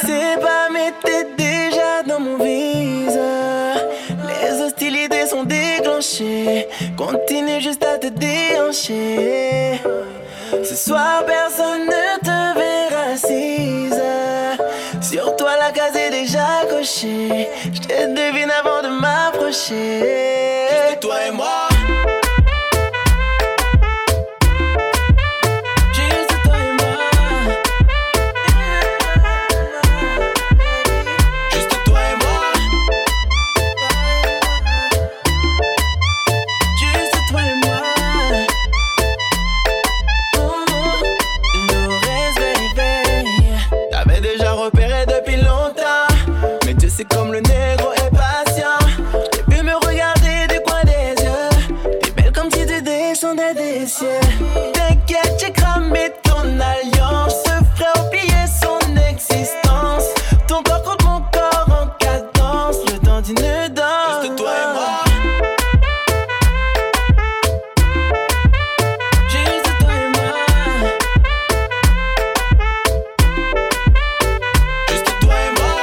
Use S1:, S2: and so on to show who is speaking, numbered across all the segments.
S1: sais pas, mais t'es déjà dans mon visa. Les hostilités sont déclenchées. Continue juste à te déhancher. Ce soir, personne ne te verra assise. Sur toi, la case est déjà cochée. Je te devine avant de m'approcher.
S2: Juste toi et moi.
S1: C'est comme le négro est patient. J'ai pu me regarder du coin des yeux. T'es belle comme si tu descendais des cieux. T'inquiète, j'ai cramé ton alliance. Je ferai oublier son existence. Ton corps contre mon corps en cadence. Le temps d'une danse.
S2: Juste toi et moi.
S1: Juste toi et moi.
S2: Juste toi et moi.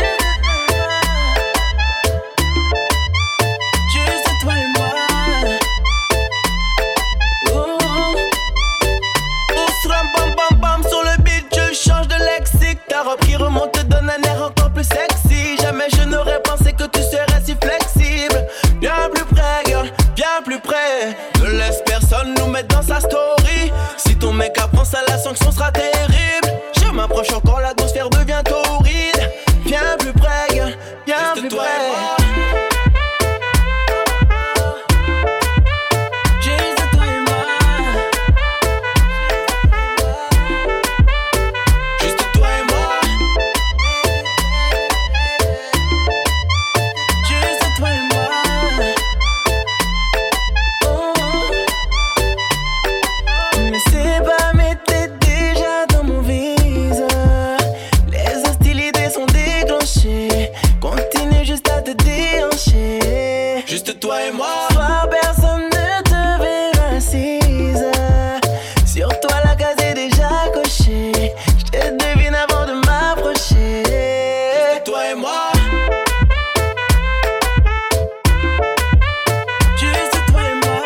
S1: Ta robe qui remonte te donne un air encore plus sexy. Jamais je n'aurais pensé que tu serais si flexible. Bien plus près, girl, bien plus près. Ne laisse personne nous mettre dans sa story. Si ton mec apprend ça, la sanction sera terrible. Je m'approche encore, l'atmosphère devient torride. Bien plus près, girl, bien
S2: Juste
S1: plus
S2: toi
S1: près.
S2: et moi.
S1: Continue juste à te déhancher.
S2: Juste toi et moi.
S1: Ce soir, personne ne te verra assise. Sur toi, la case est déjà cochée. Je te devine avant de m'approcher.
S2: Juste toi et moi.
S1: Juste toi et moi.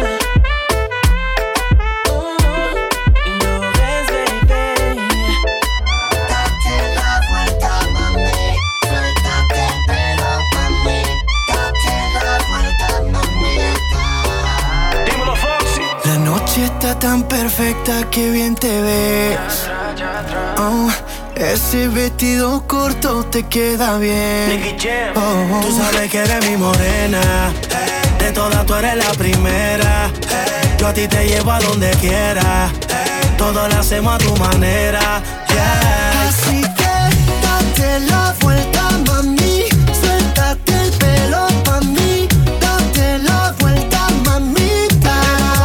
S1: Lores, baby.
S3: Date la vuelta, mami. Suéltate el pelo, mami. Date la vuelta, mamita.
S2: Dímelo, Foxy.
S4: La noche está tan perfecta que bien te ves. Oh, ese vestido corto te queda bien. Oh, tú sabes que eres mi morena. De todas tú eres la primera. Yo a ti te llevo a donde quiera. Todo lo hacemos a tu manera. Yeah. Así que date la vuelta, mami. Suéltate el pelo pa' mí. Date la vuelta, mamita.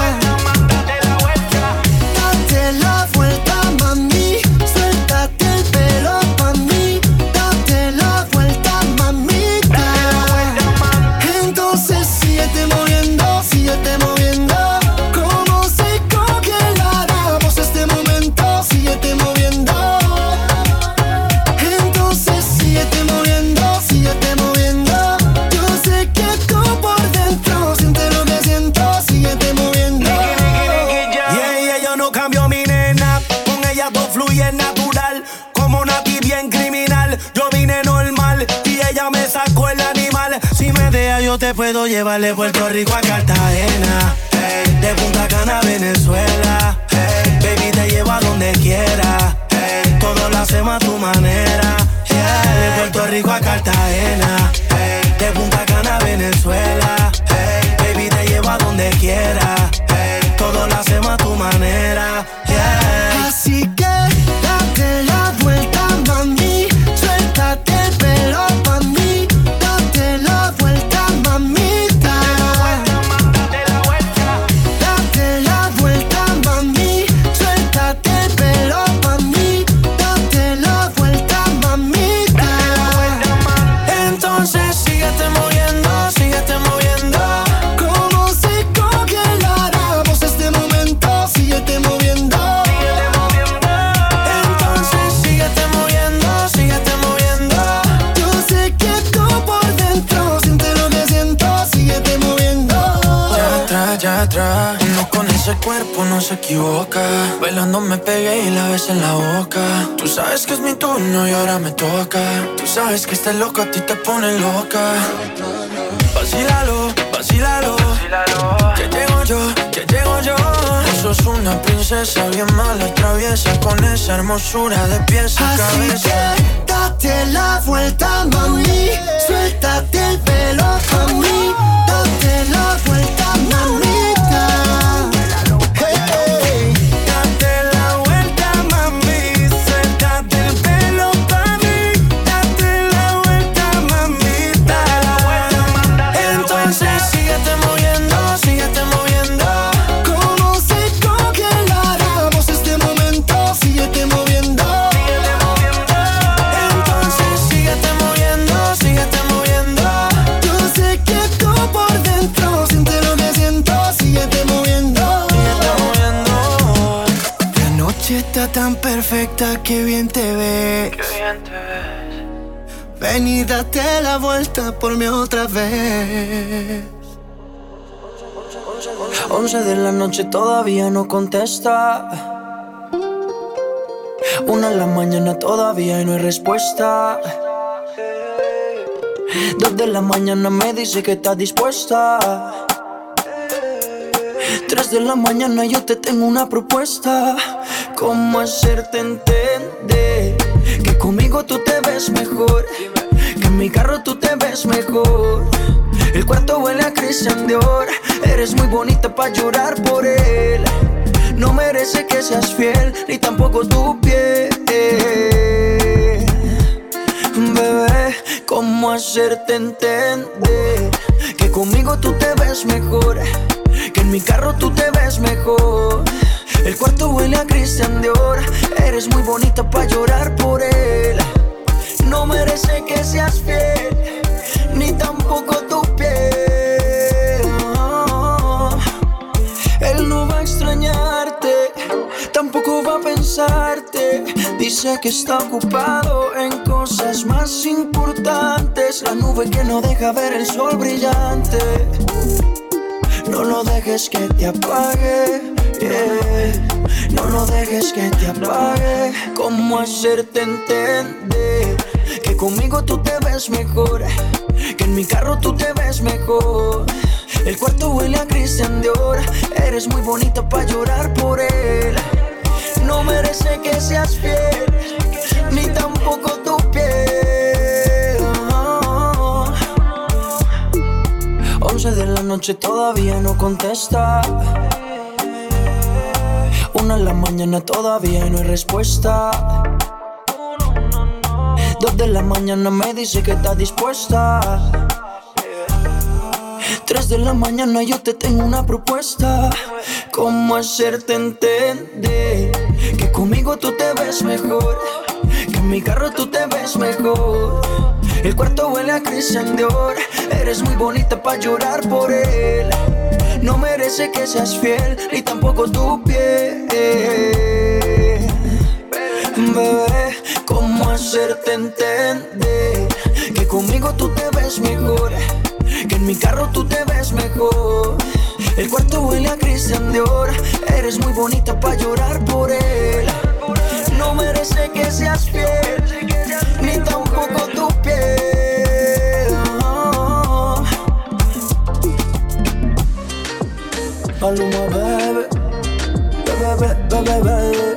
S4: Date la vuelta, mami. Suéltate el pelo pa' mí. Date la vuelta, mamita. Entonces síguete moviendo, síguete moviendo. Como si congeláramos este momento. Síguete moviendo. Entonces síguete moviendo, síguete moviendo. Yo sé que tú por dentro sientes lo que siento. Síguete moviendo. Yeah, yo no cambio mi nena. Con ella todo fluye natural. Como Nati bien criminal. Yo vine normal y ella me sacó el animal. Si me deja yo te puedo llevar de Puerto Rico a Cartagena. Hey, de Punta Cana a Venezuela. Hey, baby te llevo a donde quiera. Hey, todo lo hacemos a tu manera. Yeah, de Puerto Rico a Cartagena. Hey, de Punta Cana a Venezuela. Hey, baby te llevo a donde quiera. Hey, todo lo hacemos a tu manera. Yeah. Así que date la vuelta, mami. Suéltate el pelo pa' mí. Date la vuelta, mamita. Date la vuelta, mami. Suéltate el pelo pa' mí. Date la vuelta, mamita. Entonces síguete moviendo, síguete moviendo. Como si congeláramos este momento. Síguete moviendo.
S1: allá atrás. Uno con ese cuerpo no se equivoca. Bailando me pegué y la besé en la boca. Tú sabes que es mi turno y ahora me toca. Tú sabes que este loco a ti te pone loca. Vacílalo, vacílalo. Que llego yo, que llego yo. Tú sos una princesa bien mala, traviesa, con esa hermosura de pies a cabeza.
S4: Así que date la vuelta, mami. Suéltate el pelo pa' mí. Date la vuelta, mamita. Hey, date la vuelta, mami. Suéltate el pelo pa' mí. Date la vuelta, mamita.
S1: Entonces síguete moviendo, síguete moviendo.
S4: Como si congeláramos este momento. Síguete moviendo.
S1: Entonces síguete moviendo, síguete moviendo.
S4: Yo sé que tú por dentro sientes lo que siento. Síguete moviendo.
S1: Síguete moviendo.
S4: La noche está tan perfecta, que bien te ves.
S1: Qué bien te ves.
S4: Ven y date la vuelta por mí otra vez.
S1: 11 de la noche todavía no contesta. 1 de la mañana todavía y no hay respuesta. 2 de la mañana me dice que está dispuesta. 3 de la mañana yo te tengo una propuesta. ¿Cómo hacerte entender que conmigo tú te ves mejor? Que en mi carro tú te ves mejor. El cuarto huele a Christian Dior. Eres muy bonita pa' llorar por él. No merece que seas fiel, ni tampoco tu piel. Bebé, ¿cómo hacerte entender que conmigo tú te ves mejor? Que en mi carro tú te ves mejor. El cuarto huele a Christian Dior. Eres muy bonita pa' llorar por él. No merece que seas fiel, ni tampoco tu piel. Él no va a extrañarte, tampoco va a pensarte. Dice que está ocupado en cosas más importantes. La nube que no deja ver el sol brillante. No lo dejes que te apague, yeah. No lo dejes que te apague. ¿Cómo hacerte entender que conmigo tú te ves mejor? Que en mi carro tú te ves mejor. El cuarto huele a Christian Dior. Eres muy bonita pa' llorar por él. No merece que seas fiel, ni tampoco tu piel. 11 de la noche todavía no contesta. 1 de la mañana todavía no hay respuesta. 2 de la mañana me dice que está dispuesta. 3 de la mañana yo te tengo una propuesta. ¿Cómo hacerte entender que conmigo tú te ves mejor? Que en mi carro tú te ves mejor. El cuarto huele a Christian Dior. Eres muy bonita pa' llorar por él. No merece que seas fiel, ni tampoco tu piel. Bebé, ¿cómo hacerte entender que conmigo tú te ves mejor? Que en mi carro tú te ves mejor. El cuarto huele a Christian Dior. Eres muy bonita pa' llorar por él. No merece que seas fiel, ni tampoco tu piel. Maluma, baby. Baby, baby, baby.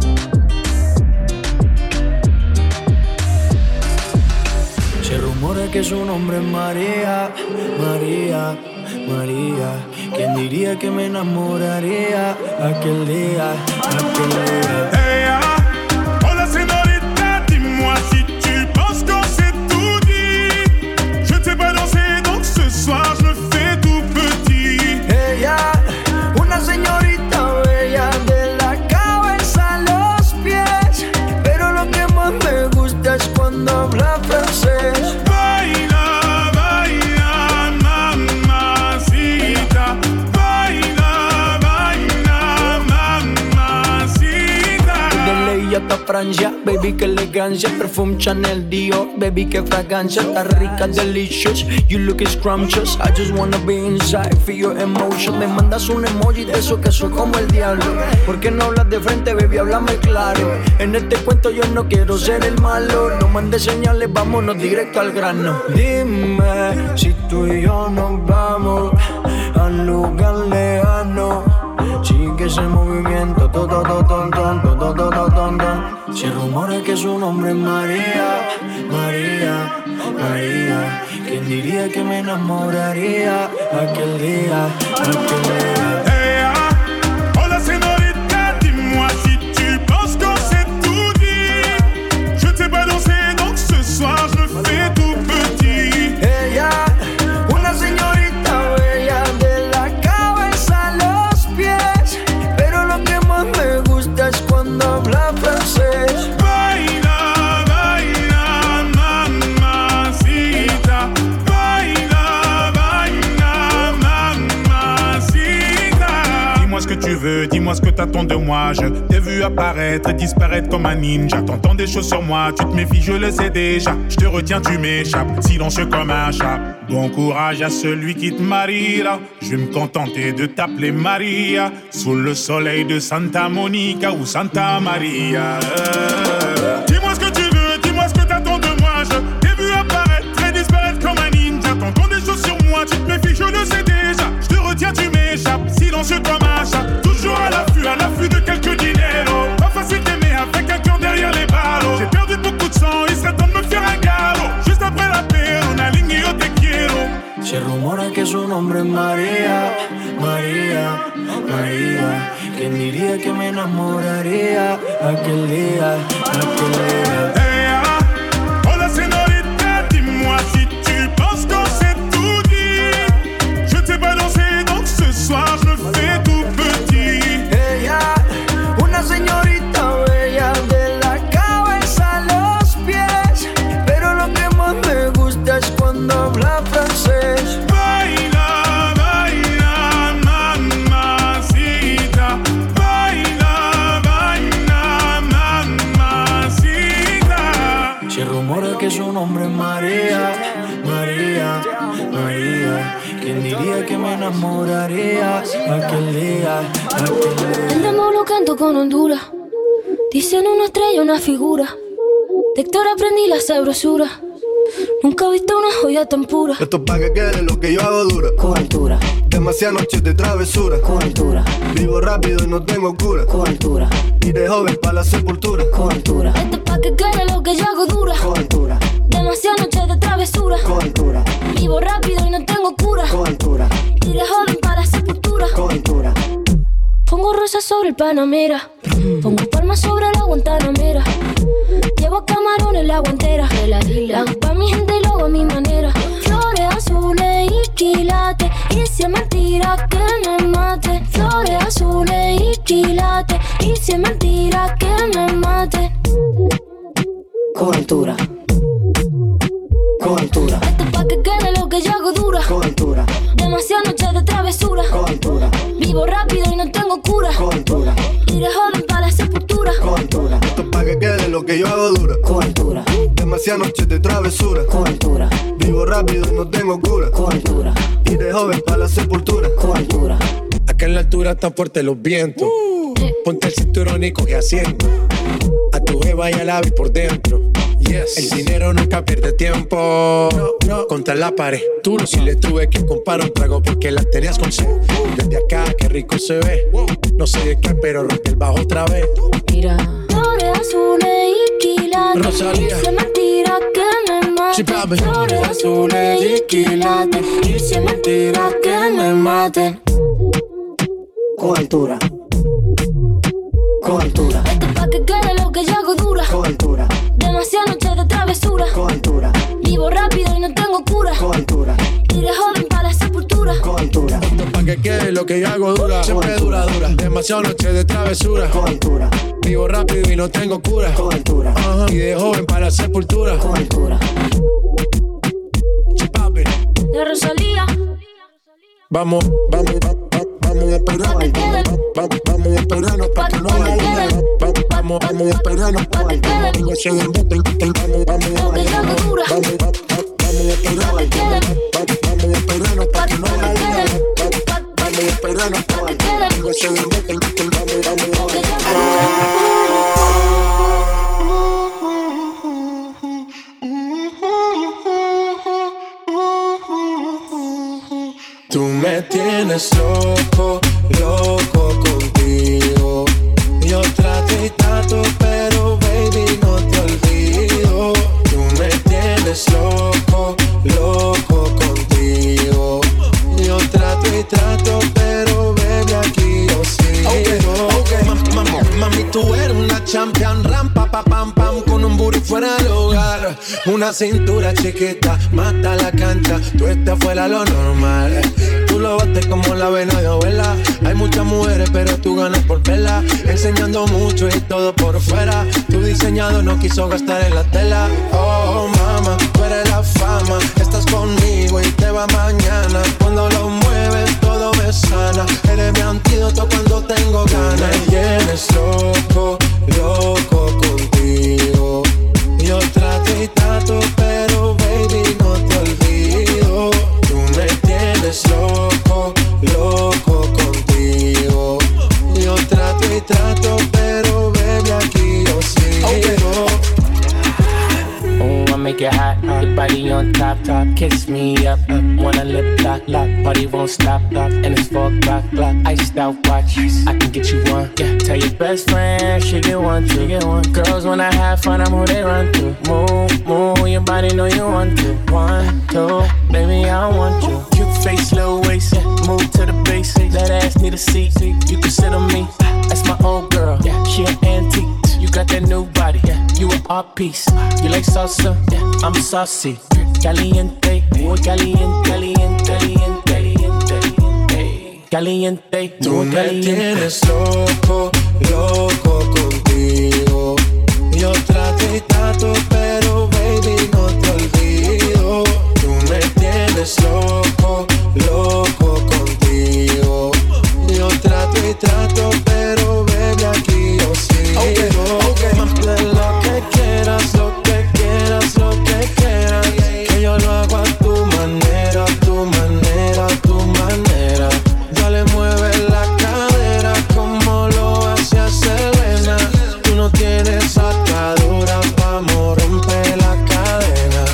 S1: Se rumora que su nombre es María, María, María. ¿Quién diría que me enamoraría aquel día, aquel día?
S5: Hey, hola señorita, dis-moi si tu penses qu'on s'est tout dit. Je ne sais pas danser, donc ce soir je me fais tout petit.
S1: Ella, una señorita bella de la cabeza a los pies. Pero lo que más me gusta es cuando habla francés.
S5: Baila, baila, mamacita. Baila, baila, mamacita.
S1: De
S6: Francia. Baby, que elegancia, perfume Chanel, Dior. Baby, que fragancia, está rica, delicious. You look scrumptious, I just wanna be inside, feel your emotion. Me mandas un emoji de eso que soy como el diablo. ¿Por qué no hablas de frente, baby? Háblame claro. En este cuento yo no quiero ser el malo. No mandes señales, vámonos directo al grano. Dime si tú y yo nos vamos a un lugar lejano. Sigue ese movimiento, Si rumores que su nombre es María, María, María. ¿Quién diría que me enamoraría aquel día, aquel día?
S5: Hey, hola señorita, dis-moi si tu penses qu'on s'est tout dit. Je ne sais pas danser, donc ce soir je me fais tout petit.
S6: Ella, una señorita bella de la cabeza a los pies, pero lo que más me gusta es cuando habla francés.
S5: Baila, baila, mamacita. Baila, baila, mamacita. Dis-moi ce que tu veux, dis-moi ce que t'attends de moi. Je t'ai vu apparaître et disparaître comme un ninja. T'entends des choses sur moi, tu te méfies, je le sais déjà. Je te retiens, tu m'échappes, silencieux comme un chat. Bon courage à celui qui te mariera. Je vais me contenter de t'appeler Maria. Sous le soleil de Santa Monica ou Santa Maria. Dis-moi ce que tu veux, dis-moi ce que t'attends de moi. Je t'ai vu apparaître et disparaître comme un ninja. T'entends des choses sur moi, tu te méfies, je le sais déjà. Je te retiens, tu m'échappes, silencieux comme un chat. Toujours à l'affût de quelques dineros. Pas facile d'aimer avec un cœur derrière les barreaux. J'ai perdu beaucoup de sang, il serait temps de me faire un galop. Juste après la paix, on aligne et yo te quiero.
S6: Se rumora que su nombre es María, María, María. ¿Quién diría que me enamoraría aquel día, aquel día?
S5: Hey, hola señorita, dis-moi si tu penses qu'on s'est tout dit. Je ne sais pas danser, donc ce soir je me fais tout petit.
S6: Ella, una señorita bella de la cabeza a los pies, pero lo que más me gusta es cuando habla francés.
S5: Baila, baila, mamacita. Baila, baila, mamacita.
S6: Se rumora que su nombre es María, María, María. ¿Quién diría que me enamoraría aquel día, aquel día?
S7: Andamos bloqueando con Honduras. Dicen una estrella, una figura. De Héctor aprendí la sabrosura. Nunca he visto una joya tan pura.
S8: Esto es pa' que quede lo que yo hago dura.
S7: Con altura,
S8: Demasiadas noches de travesura.
S7: con altura,
S8: Vivo rápido y no tengo cura.
S7: con altura,
S8: Y de joven pa' la sepultura.
S7: con altura. Esto es pa' que quede lo que yo hago dura.
S8: Con altura,
S7: Demasiadas noches de travesura.
S8: con altura,
S7: Vivo rápido y no tengo cura.
S8: con altura,
S7: Y de joven para la sepultura.
S8: con altura.
S7: Pongo rosas sobre el Panamera. Pongo palmas sobre la Guantanamera. Llevo camarones en la guantera. La hago pa' mi gente y lo hago a mi manera. Flores azules y quilates. Y si es mentira que me mate. Flores azules y quilates. Y si es mentira que me mate. Con altura, con altura. Esto es pa' que quede lo que yo hago dura.
S8: Con altura,
S7: Demasiadas noches de travesura.
S8: con altura,
S7: Vivo rápido y no tengo cura.
S8: con altura,
S7: Y de joven para la sepultura.
S8: con altura. Esto es pa' que quede lo que yo hago dura.
S7: Con altura,
S8: Demasiadas noches de travesura.
S7: con altura,
S8: Vivo rápido y no tengo cura.
S7: con altura,
S8: Y de joven pa' la sepultura.
S7: con altura.
S9: Acá en la altura están fuertes los vientos. Ponte el cinturón y coge asiento. A tu jeva y al ave por dentro. Yes. El dinero nunca pierde tiempo. No. Contra la pared. Tú no. Si le tuve que comprar un trago porque las tenías con sed. Desde acá, qué rico se ve. No sé de qué, pero rompe el bajo otra vez.
S7: Mira. Flores azules y quilates.
S9: Rosalía.
S7: Y si es mentira que me mate.
S9: Sí, papi.
S7: Flores azules y quilates. Y si es mentira que me mate.
S8: Con altura, con altura,
S7: Esto es pa' que quede lo que yo hago dura.
S8: con altura,
S7: Demasiadas noches de travesura.
S8: con altura,
S7: Vivo rápido y no tengo cura.
S8: con altura,
S7: Y de joven para la sepultura.
S8: con altura,
S9: Esto pa' que quede lo que yo hago dura. Siempre dura, dura. Demasiadas noches de travesura.
S8: con altura,
S9: Vivo rápido y no tengo cura.
S8: con altura,
S9: Ajá. Y de joven para la sepultura.
S7: Con altura.
S9: Sí, papi.
S7: De Rosalía.
S9: Vamos, vamos a esperar. Vamos a esperarnos pa' que no haya luna. Vamos vamos a esperarnos. Vamos a ese embuste, vamos a esperarnos. Vamos a esperarnos para que no la digan. Vamos a esperarnos. Vamos a ese embuste, vamos a Tú me tienes loco, loco contigo. Yo trato y trato, pero baby no te olvido. Tú me tienes loco, loco contigo. Yo trato y trato, pero baby aquí yo sigo. Okay. Mami, tú eres una champion, rampa, pa, pam, pam, con un booty fuera del hogar. Una cintura chiquita, mata la cancha, tú estás fuera lo normal. Tú lo bates como la vena de abuela. Hay muchas mujeres, pero tú ganas por vela. Enseñando mucho y todo por fuera. Tu diseñado no quiso gastar en la tela. Oh, mama, tú eres la fama. Estás conmigo y te va mañana. Cuando lo mueves, todo me sana. Eres mi antídoto cuando tengo ganas. Me tienes loco, loco contigo. Yo trato y trato, pero baby no te olvido. Tú me tienes loco, loco contigo. Yo trato y trato, pero baby aquí yo sigo.
S10: Oh, I make it hot, your body on top, kiss me up, wanna lip lock, party won't stop, and it's 4 o'clock, iced out watch, I can get you one, yeah. Tell your best friend, she get one, girls when I have fun, I'm who they run to, move, your body know you want to, 1, 2, baby I want you, cute face, little waist, yeah. Move to the basics, that ass need a seat, you can sit on me, that's my old girl, yeah. She an antique, you got that new body, yeah. You an art piece, you like salsa, yeah. I'm saucy, caliente, muy caliente, caliente, caliente, caliente.
S9: Tú me tienes loco, loco contigo. Yo trato y trato, pero baby no te olvido. Tú me tienes loco, loco contigo. Yo trato y trato, pero baby aquí yo sigo. Okay. Lo que quieras, lo que quieras, lo que quieras. Que yo lo hago a tu manera, tu manera, tu manera. Dale, mueve la cadera como lo hacía Selena. Tú no tienes atadura, vamos, rompe la cadena.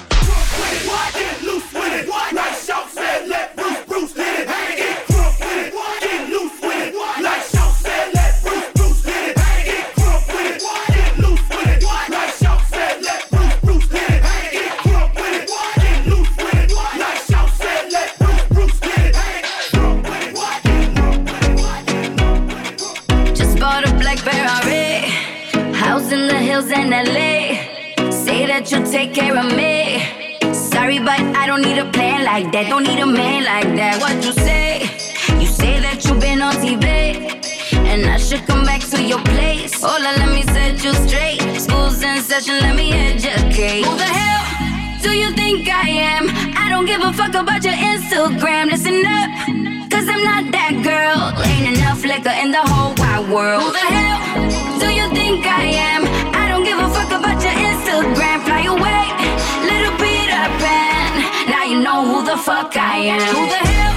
S11: In LA, say that you'll take care of me. Sorry, but I don't need a plan like that. Don't need a man like that. What you say? You say that you've been on TV, and I should come back to your place. Hola, let me set you straight. School's in session, let me educate. Who the hell do you think I am? I don't give a fuck about your Instagram. Listen up, cause I'm not that girl. Ain't enough liquor in the whole wide world. Who the hell do you think I am? I don't give a fuck about your Instagram. Fly away, little Peter Pan. Now you know who the fuck I am. Who the hell?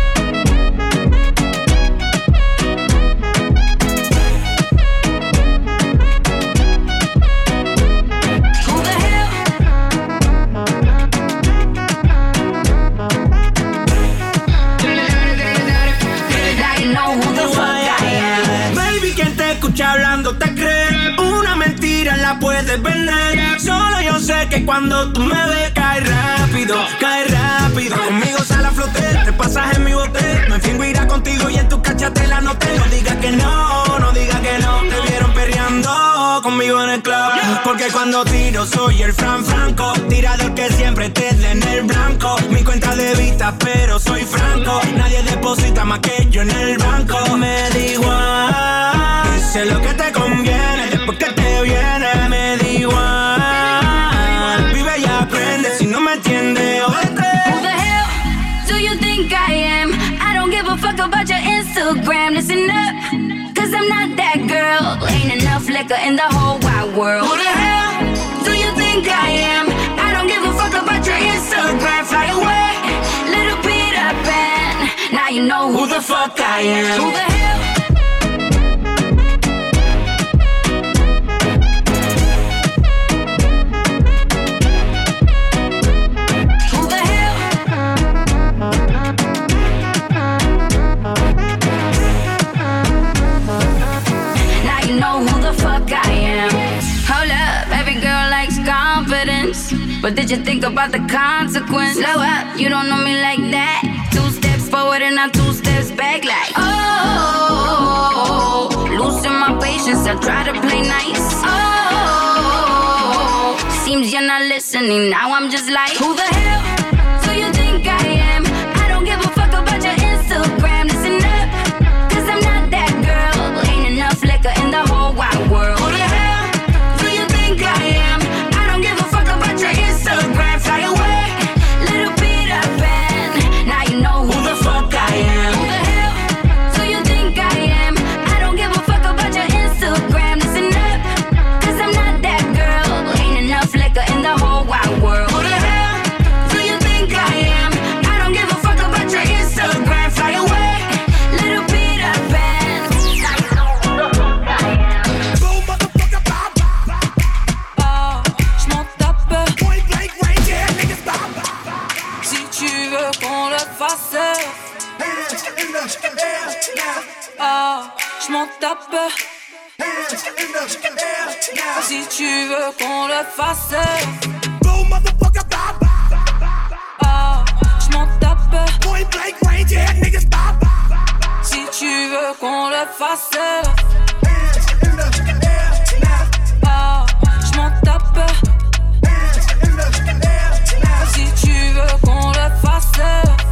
S11: Who the hell? Now you know who the fuck I am.
S6: Baby, quien te escucha hablando te cree. Una mentira la puedes vender. Solo yo sé que cuando tú me ves cae rápido, cae rápido. Conmigo sale a flote, te pasas en mi bote. Me fingo irá contigo y en tu cachate la noté. No digas que no, no digas que no. Te vieron perreando conmigo en el club. Porque cuando tiro soy el Franco, tirador que siempre te dé en el blanco. Mi cuenta de vista pero soy franco. Nadie deposita más que yo en el banco. Me da igual, sé lo que te conviene. Después que te viene, me da igual. Vive y aprende, si no me entiendes, vete.
S11: Who the hell do you think I am? I don't give a fuck about your Instagram. Listen up, cause I'm not that girl. Ain't enough enough liquor in the whole wide world. Who the hell do you think I am? I don't give a fuck about your Instagram. Fly away, little Peter Pan. Now you know who the fuck I am. Who the hell? But did you think about the consequence? Slow up, you don't know me like that. 2 steps forward and I'm 2 steps back like oh, losing my patience, I try to play nice. Oh, seems you're not listening, now I'm just like who the hell do you think I am? I don't give a fuck about your Instagram. Listen up, cause I'm not that girl. Ain't enough liquor in the whole wide world. Who the hell do you think I am? Instagram, fly away, little Peter Pan. Now you know who the fuck I am. Who the hell do you think I am? I don't give a fuck about your Instagram. Listen up, cause I'm not that girl. Ain't enough liquor in the whole wide world. Who the hell do you think I am? I don't give a fuck about your Instagram. Fly away, little Peter Pan. Now you know who the fuck I am.
S2: Boom, motherfucker, bop, bop, bop.
S12: Ah, j'm'en tape. Si tu veux qu'on le fasse, ah, j'm'en tape. Si tu veux qu'on le fasse, ah, j'm'en tape. Si tu veux qu'on le fasse, ah, j'm'en tape. Si tu veux qu'on le fasse.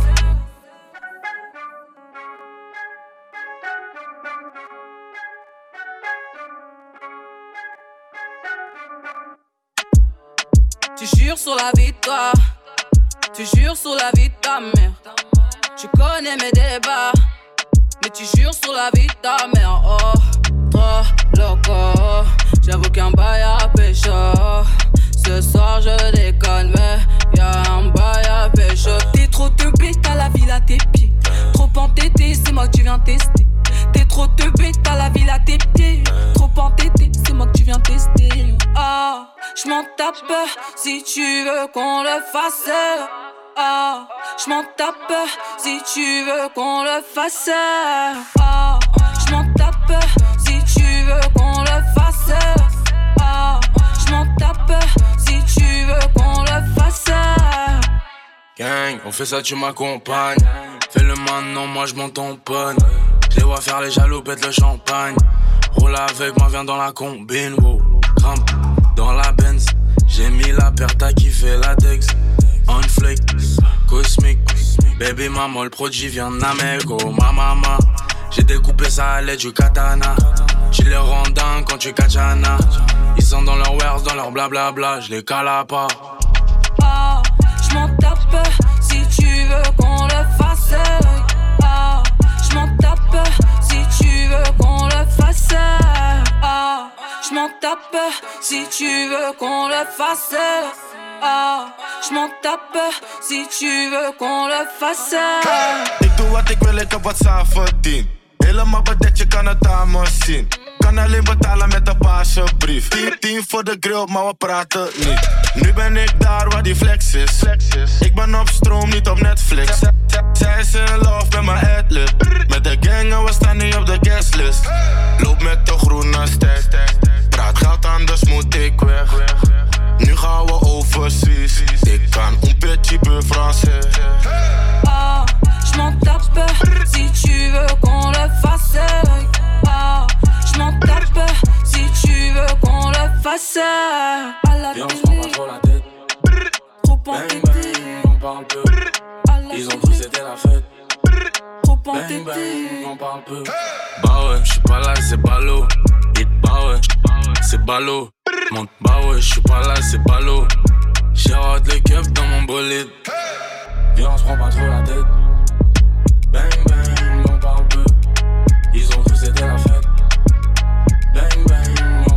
S12: Tu jures sur la vie de toi, tu jures sur la vie de ta mère. Tu connais mes débats, mais tu jures sur la vie de ta mère. Oh, trop loco, j'avoue qu'un bail à pécho. Ce soir je déconne mais y'a un bail à pécho. T'es trop teubé, t'as la ville à tes pieds. Trop entêté, c'est moi que tu viens tester. T'es trop teubé, t'as la ville à tes pieds. Trop entêté, c'est moi que tu viens tester. Ah, j'm'en tape si tu veux qu'on le fasse. Ah, j'm'en tape si tu veux qu'on le fasse. Ah, j'm'en tape si tu veux qu'on le fasse. Ah, j'm'en tape si tu veux qu'on le fasse.
S13: Gang, on fait ça, tu m'accompagnes. Fais le maintenant, moi je m'en tamponne. Je les vois faire les jaloux, pète le champagne. Roule avec moi, viens dans la combine. Wow. Grimpe dans la Benz. J'ai mis la paire, t'as kiffé la Dex. On flick, cosmique. Baby maman, le produit vient d'Amérique. Oh ma maman, j'ai découpé ça à l'aide du katana. Tu les rends dingues quand tu katana. Ils sont dans leur wares, dans leur blablabla. Je les cale à part.
S12: Ah, j'm'en tape si tu veux qu'on le fasse. Ah, j'm'en tape si tu veux qu'on le fasse. Ah, j'm'en tape si tu veux qu'on le fasse. Ah, j'm'en tape si tu veux qu'on le fasse.
S14: Ik doe wat ik wil, ik heb wat zelf verdiend. Helemaal bedekt, je kan het aan me zien. Kan alleen betalen met een paasjebrief. 10 voor de grill, maar we praten niet. Nu ben ik daar waar die flex is. Ik ben op stroom, niet op Netflix. Zij is in love met mijn adlib. Met de gang en we staan niet op de guestlist. Loop met de groene stack. Praat geld, anders moet ik weg. Nu gaan we overseas. Ik kan un petit peu français.
S12: Ah, j'm'en tape si tu veux qu'on le fasse. Ah, j'm'en tape si tu veux qu'on le fasse. À la
S13: télé, on se prend pas trop la tête.
S12: Trop entêté,
S13: on parle peu. Ils ont cru c'était la fête.
S12: Trop entêté,
S13: on parle peu. Bah ouais, j'suis pas là, c'est ballot. Bah ouais, c'est ballot. Monte, bah ouais, j'suis pas là, c'est ballot. J'ai hâte les keufs dans mon bolide. Viens, on se prend pas trop la tête. Bang bang, on parle peu. Ils ont cru c'était la fête. Bang bang,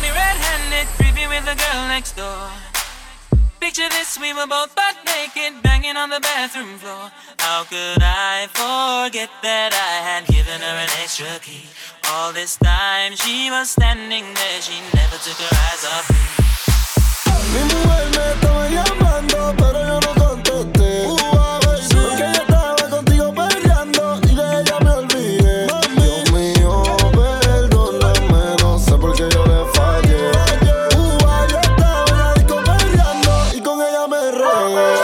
S15: me red-handed, creepy with the girl next door. Picture this, we were both butt naked, banging on the bathroom floor. How could I forget that I had given her an extra key? All this time she was standing there, she never took her eyes off me.
S16: Mi mujer me estaba llamando, pero yo no contesté. Porque yo estaba contigo peleando y de ella me olvidé. Dios mío, perdóname, no sé por qué yo le fallé. Yo estaba en la disco peleando y con ella me regué.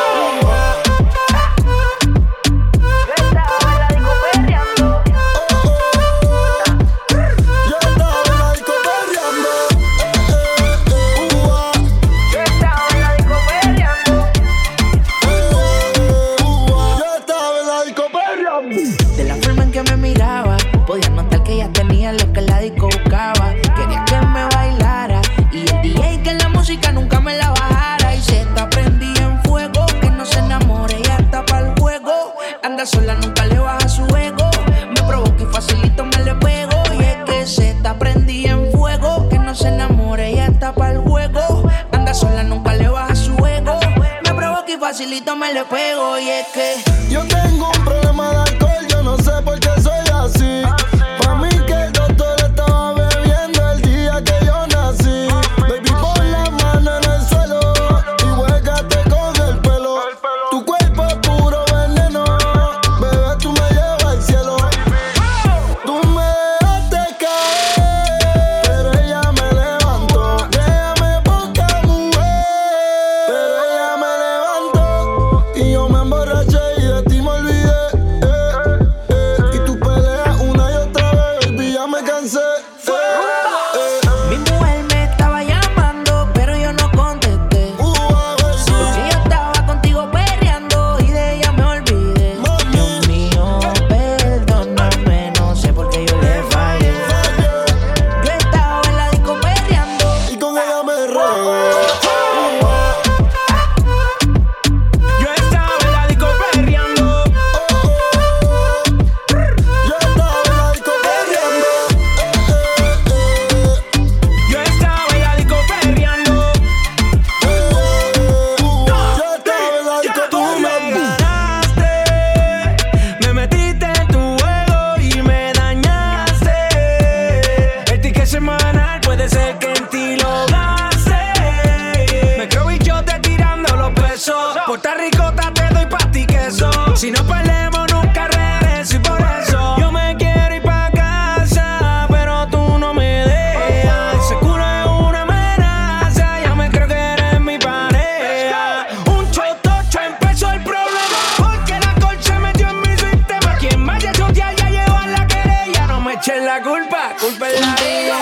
S17: Sola nunca le baja su ego. Me provoca y facilito me le pego. Y es que se está prendida en fuego. Que no se enamore, ella está pa'l juego. Anda sola, nunca le baja su ego. Me provoca y facilito me le pego. Y es que
S16: yo tengo un problema de alcohol, yo no sé por qué soy así. Pa' mí que el doctor estaba bebiendo el día que yo nací. Baby, pon la mano en el suelo y huégate con el pelo. Tu cuerpo es puro veneno.
S17: si no peleamos nunca regreso y por eso yo me quiero ir pa' casa, pero tú no me dejas. Ese culo es una amenaza, ya me creo que eres mi pareja. Un chotocho empezó el problema, porque la alcohol se metió en mi sistema. Quien vaya a chotear ya lleva la querella, no me echen la culpa, culpa es la vida.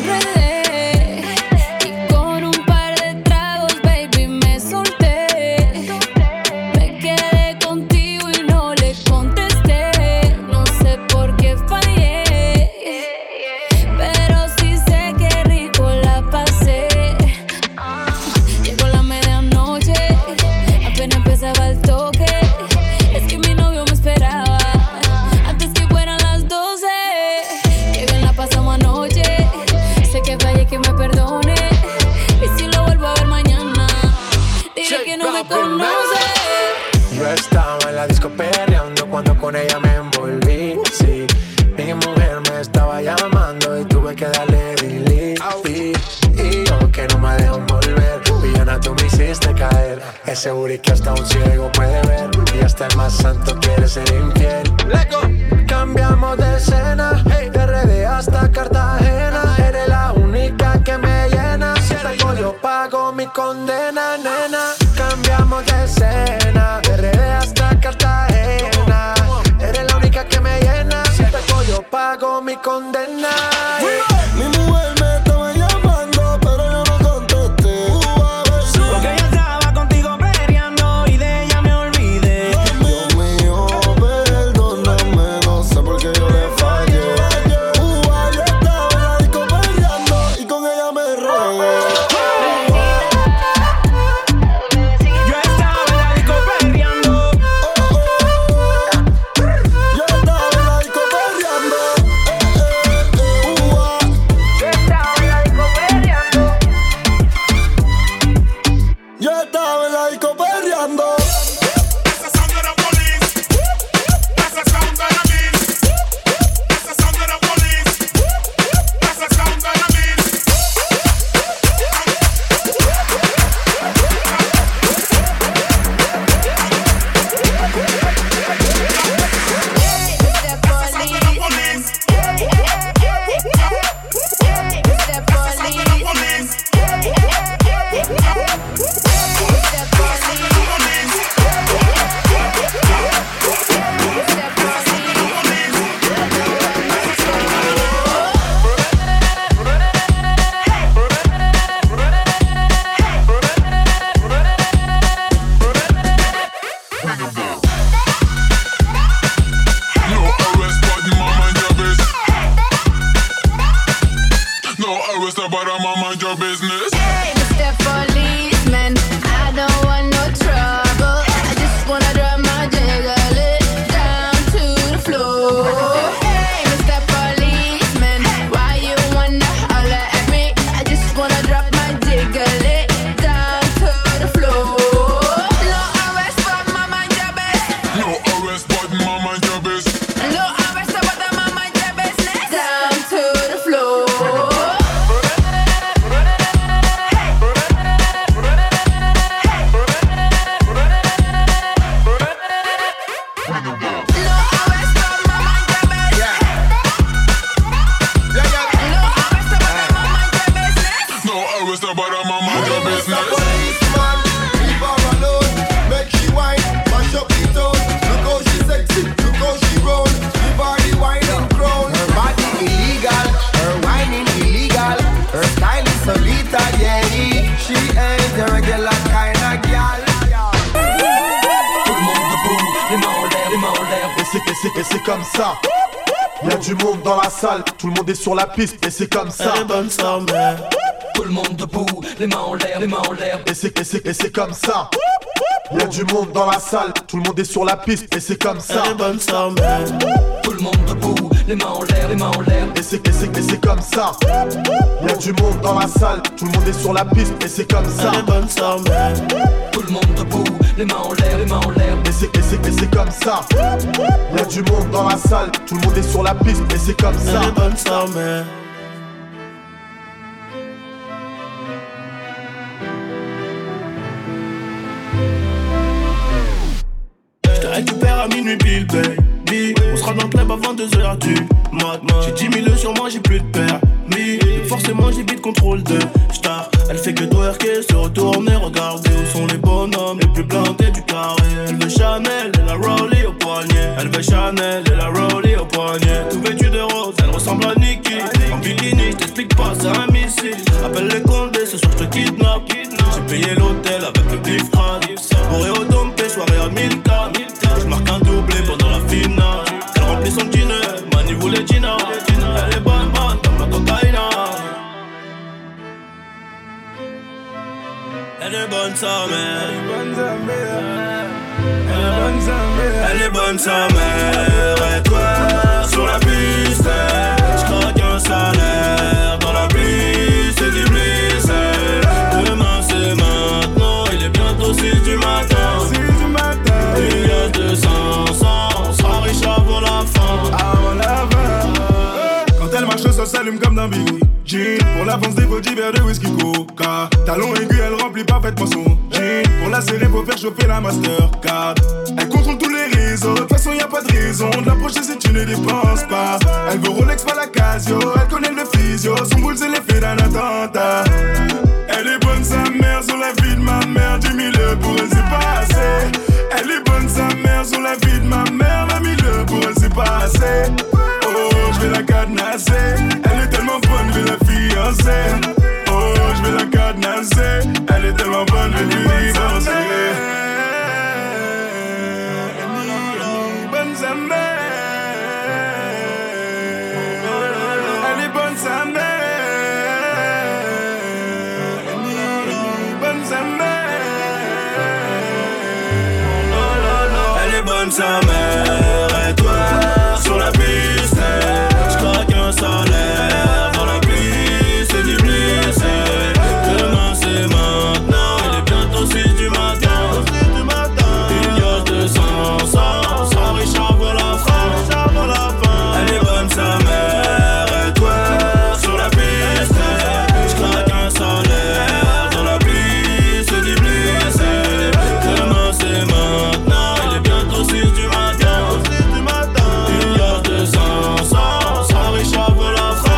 S9: Yo estaba en la disco perreando cuando con ella me envolví. Sí, mi mujer me estaba llamando y tuve que darle delete. Y yo que no me dejo volver, villana tú me hiciste caer. Ese booty que hasta un ciego puede ver, y hasta el más santo quiere ser infiel. Cambiamos de escena, hey, de RD hasta Cartagena. Eres la única que me llena, si pego yo pago mi condena, nena. Cambiamos de escena, de RD hasta Cartagena. Eres la única que me llena, si pego yo pago mi condena.
S16: Mi mujer me estaba llamando, pero yo no contesté.
S17: Porque yo estaba contigo peleando y de ella me olvidé.
S16: Dios mío, perdóname, no sé por qué yo le fallé. Yo estaba en la disco peleando y con ella me regué.
S18: arrest her, but I'ma mind your business.
S19: Hey, Mr. Policeman, I don't want no trouble. I just wanna drop my jiggle it down to the floor. Hey, Mr. Policeman, why you wanna holler at me? I just wanna drop my jiggle it down to the floor. No arrest, but my mind your business.
S18: No arrest, but my mind your business.
S19: No arrest, but my mind your business. Down to the floor.
S20: Et c'est comme ça. Y'a du monde dans la salle, tout le monde est sur la piste et c'est comme ça.
S1: Elle est bonne sa mère.
S6: Tout le monde debout, les mains en l'air, les mains en l'air.
S20: Et c'est comme ça. Y'a du monde dans la salle, tout le monde est sur la piste et c'est comme ça.
S1: Elle est bonne sa mère.
S6: Tout le monde debout, les mains en l'air, les mains en l'air.
S20: Et c'est comme ça. Y'a du monde dans la salle, tout le monde est sur la piste et c'est comme ça.
S1: Elle est bonne sa mère.
S6: Tout le monde debout, les mains en l'air, les mains en l'air.
S20: Et c'est comme ça. Y'a du monde dans la salle, tout le monde est sur la piste et c'est comme ça.
S1: Elle est bonne sa mère. Je te récupère à minuit pile, baby. On sera dans le club avant 2h du mat. J'ai 10 000 sur moi, j'ai plus de permis. Forcément j'ai vite contrôle de star. Elle fait que twerker, se retourner, regarder où sont les bonhommes les plus plantés du carré. Elle veut Chanel et la Rollie au poignet. Elle veut Chanel et la Rollie au poignet. Tout vêtu de rose, elle ressemble à Nicki. En bikini, je t'explique pas, c'est un missile. Appelle les condés, ce soir je te kidnappe. J'ai payé l'hôtel avec le bif crâne. Bourré au dompé, soirée à 1000K. Je marque un doublé pendant la finale. Elle remplit son dîner, Mani voulait Gina. Elle est bonne man comme la cocaïne. Elle est bonne sa mère. Elle est bonne sa mère. Et toi sur la piste, j'craque un salaire. Dans la pluie, c'est du bliss. Demain c'est maintenant, il est bientôt 6 du matin. Il y a 200, on sera riche avant la fin.
S5: Quand elle marche, ça s'allume comme d'un billet. Jean, pour l'avance des body verre de whisky coca. Talon aigu, elle remplit parfaitement son jean. Pour la serrer, faut faire chauffer la Mastercard. Elle contrôle tous les réseaux, de toute façon y'a pas de raison de l'approcher si tu ne dépenses pas. Elle veut Rolex, pas la Casio, elle connaît le physio. Son boule c'est l'effet d'un attentat. Elle est bonne sa mère sur la vie de ma mère. 10 000 pour elle c'est pas assez. Elle est bonne sa mère sur la vie de ma mère. 20 000 pour elle c'est pas assez. Oh, je vais la cadenasser. Elle est tellement bonne, je vais la fiancer. Oh, je vais la cadenasser. Elle est tellement bonne, je vais lui divorcer. Bonne sa mère. Elle est bonne sa mère. Bonne sa mère. Elle est bonne sa mère. Et toi sur la piste, j'craque un salaire. Dans la pluie, c'est du bliss. Demain c'est maintenant, il est bientôt 6 du matin. Il y a 200, on sera riche avant la fin. Elle est bonne sa mère. Et toi sur la piste, j'craque un salaire. Dans la pluie, c'est du bliss. Demain c'est maintenant, il est bientôt 6 du matin. Il y a 200, on sera riche avant la fin.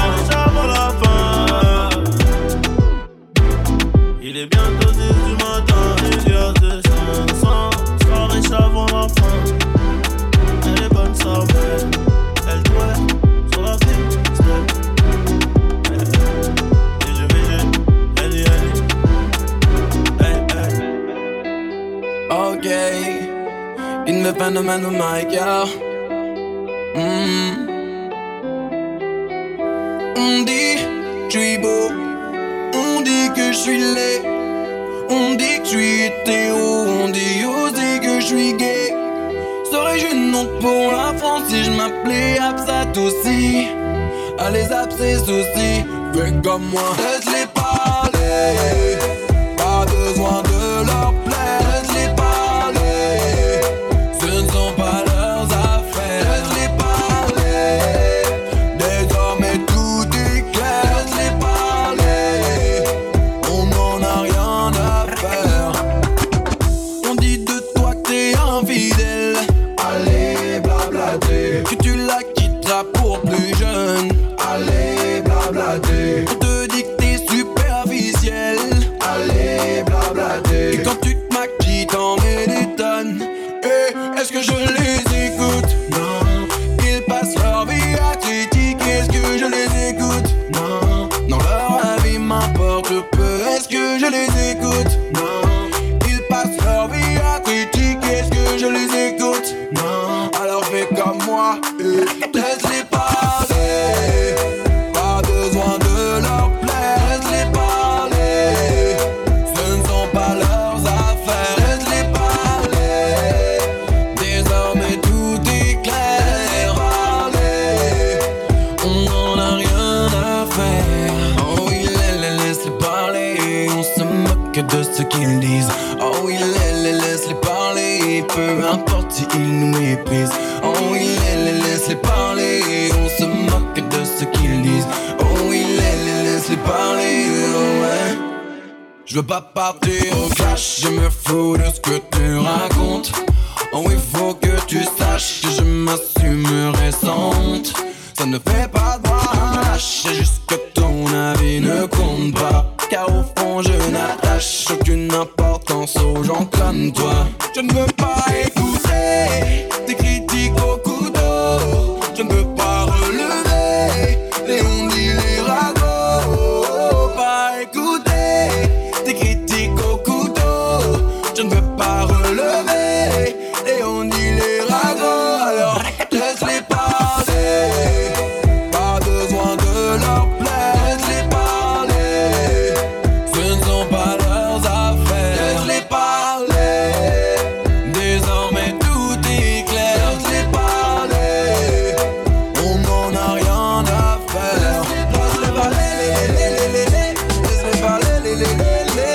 S5: Il est bientôt 10 du matin. Il y a 200, on sera riche avant la fin. Elle est bonne sa mère. Elle doit sur la piste. Et je vais, elle y
S1: Ok, in the phenomenon of my girl. On dit, je suis beau. que je suis laid. On dit que je suis hétéro, on dit aussi que je suis gay. Serais-je une honte pour la France si je m'appelais Absat aussi? Allez Zap ses soucis, fais comme moi. Laisse-les parler, pas besoin de leur plaire. Laisse-les parler, ce ne sont pas leurs affaires. Laisse-les parler, désormais tout est clair. Laisse-les parler, on n'en a rien à faire. On dit de toi que t'es infidèle. Allez blablater, que tu la quitteras pour plus jeune. Allez blablater, on te dit que t'es superficiel. Allez blablater, et quand tu te maquilles t'en mets des tonnes. Et est-ce que je les écoute? Non. Ils passent leur vie à critiquer. Est-ce que je les écoute? Non. Non, leur avis m'importe peu. Est-ce que je les écoute? Non. Ils passent leur vie à critiquer. Est-ce que je les écoute? Non. Alors fais comme moi, laisse-les parler. Pas besoin de leur plaire. Laisse-les parler, ce ne sont pas leurs affaires. Laisse-les parler, désormais tout est clair. Laisse-les parler, on n'en a rien à faire. Oh oui, laisse-les parler, on se moque de ce qu'ils disent. Oh oui, laisse-les parler, peu importe s'ils nous méprisent. Oh oui, laisse-les parler, on se moque de ce qu'ils disent. Oh oui, laisse-les parler, oh ouais. Je veux pas partir au clash, je me fous de ce que tu racontes. Oh il faut que tu saches que je m'assumerai sans honte. Ça ne fait pas de moi un lâche, c'est juste que ton avis ne compte pas. Car au fond je n'attache aucune importance aux gens comme toi. Je ne veux pas écouter tes critiques au couteau. Je ne veux pas relever les ondits, les ragots. Pas écouter tes critiques au couteau. Je ne veux pas relever les ondits, les ragots. Alors laisse-les parler, pas besoin de leur plaire. Laisse-les parler, ce ne sont pas leurs affaires. Laisse-les parler, désormais tout est clair. Laisse-les parler, on n'en a rien à faire. Laisse-les parler, laisse-les parler, laisse-les parler,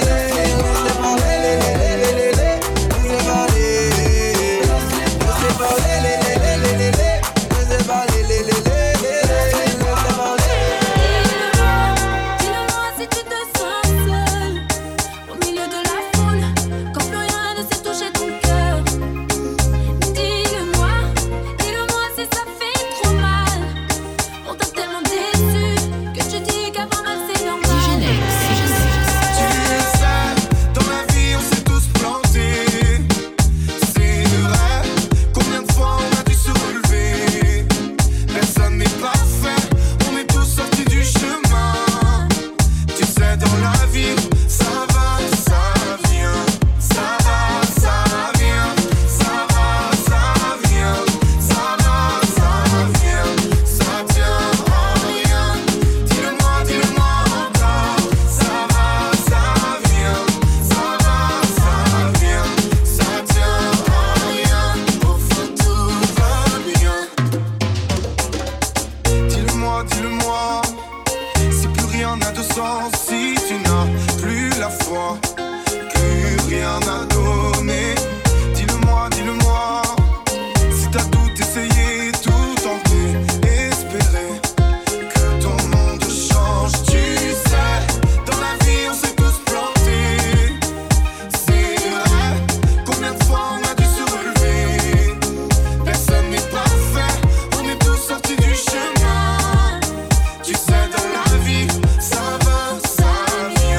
S19: Dis-le-moi si tu te sens seul au milieu de la foule, quand plus rien ne sait toucher ton cœur. Dis-le-moi si ça fait trop mal. Pourtant tellement déçu que tu dis qu'avoir mal c'est normal.
S14: Tu le sais, dans la vie on s'est tous plantés. C'est vrai, combien de fois on a dû se relever. Personne n'est parfait, on est tous sortis du chemin. Tu sais dans la vie, ça va, ça vient. Ça va, ça vient. Ça va, ça vient. Ça va, ça vient. Ça tient en rien. Dis-le-moi encore. Ça va, ça vient. Ça va, ça vient. Ça tient en rien. Au fond tout va bien. Dis-le-moi, si plus rien n'a de sens, si tu n'as plus la foi, plus rien à donner. Dis-le-moi, si t'as tout essayé, tout tenté, espéré que ton monde change. Tu sais, dans la vie on s'est tous plantés. C'est vrai, combien de fois on a dû se relever. Personne n'est parfait, on est tous sortis du chemin. Tu sais dans la vie, ça va, ça vient.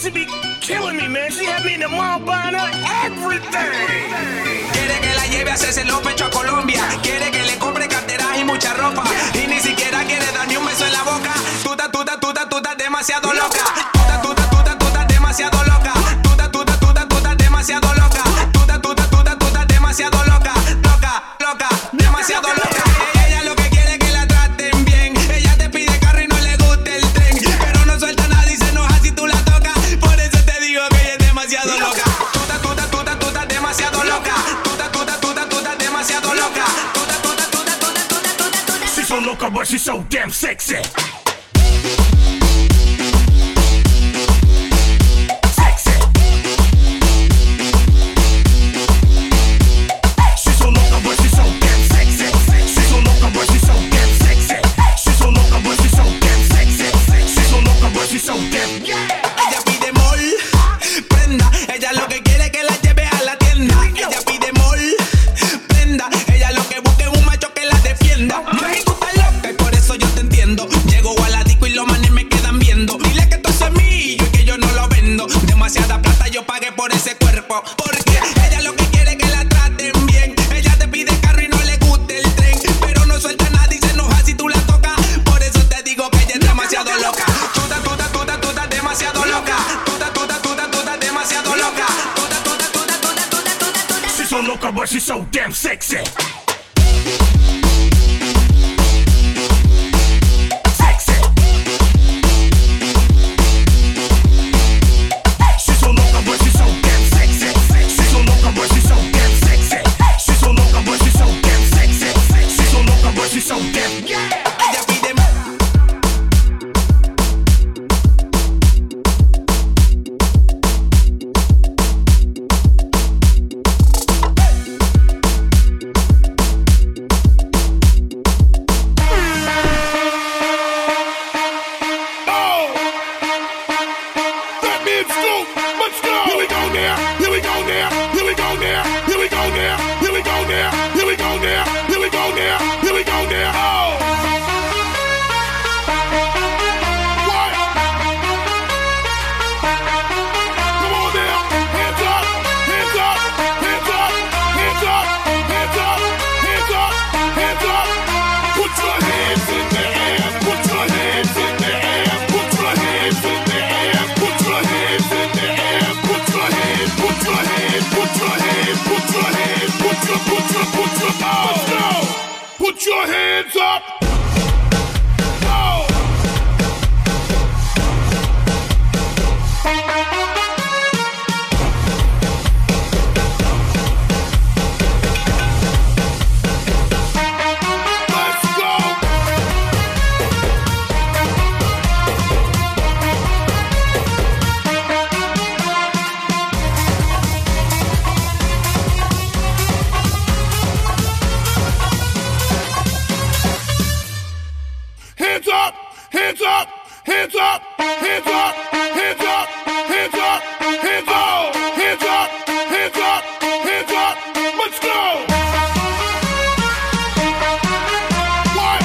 S2: pussy be killing me, man. She had me in the mall buying her everything.
S21: Quiere que la lleve a hacerse los pechos a Colombia. Quiere que le compre carteras y mucha ropa. Y ni siquiera quiere darme un beso en la boca. Tú estás demasiado loca. Tú estás demasiado loca. Tú estás demasiado loca. Tú estás demasiado loca. Loca, demasiado loca. Ella lo que quiere es que la traten bien. Ella te pide carro y no le gusta el tren. Pero no suelta nada y se enoja si tú la tocas. Por eso te digo que ella es demasiado loca. Tú estás demasiado loca. Tú estás demasiado loca.
S2: She's so loca, but she's so damn sexy.
S21: Ella pide mol, prenda. Ella lo que quiere es que la lleve a la tienda. Ella pide mol, prenda. Ella lo que busca es un macho que la defienda. Mami, tú estás loca y por eso yo te entiendo. Llego a la disco y los manes me quedan viendo. Dile que esto es semillo y que yo no lo vendo. Demasiada plata yo pagué por ese cuerpo. Porque ella lo que quiere es que la traten bien. Ella te pide carro y no le gusta el tren. Pero no suelta nada y se enoja si tú la tocas. Por eso te digo que ella es demasiado loca. Demasiado loca. Tú estás demasiado loca.
S2: She's so loca, but she's so damn sexy. She's so loca, but she's so damn sexy. She's so loca, but she's so damn sexy. She's so loca, but she's so damn sexy. She's so loca, but she's so damn.
S21: Ella pide
S2: Put your hands up. Hands up, hands up, hands up, hands up, hands up, hands up, hands up, hands up, hands up, hands up. Let's go. What?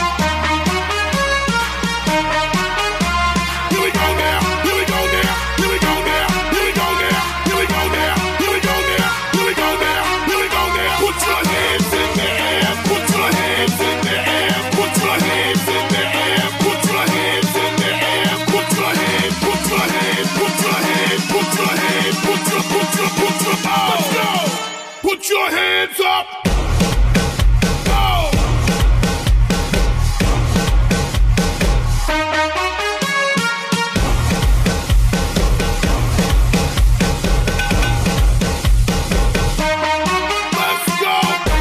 S2: Here we go now. Here we go now. Here we go now. Here we go now. Here we go now. Here we go now. Here we go now. Here we go now. Put your hands in the air. Put your hands in the air. Put your hands in the air. Put your hands in the air. Put your hands. Put your hands. Put your hands. Put your hands. Put your. Oh. Let's go. Put your hands up. Oh. Let's go.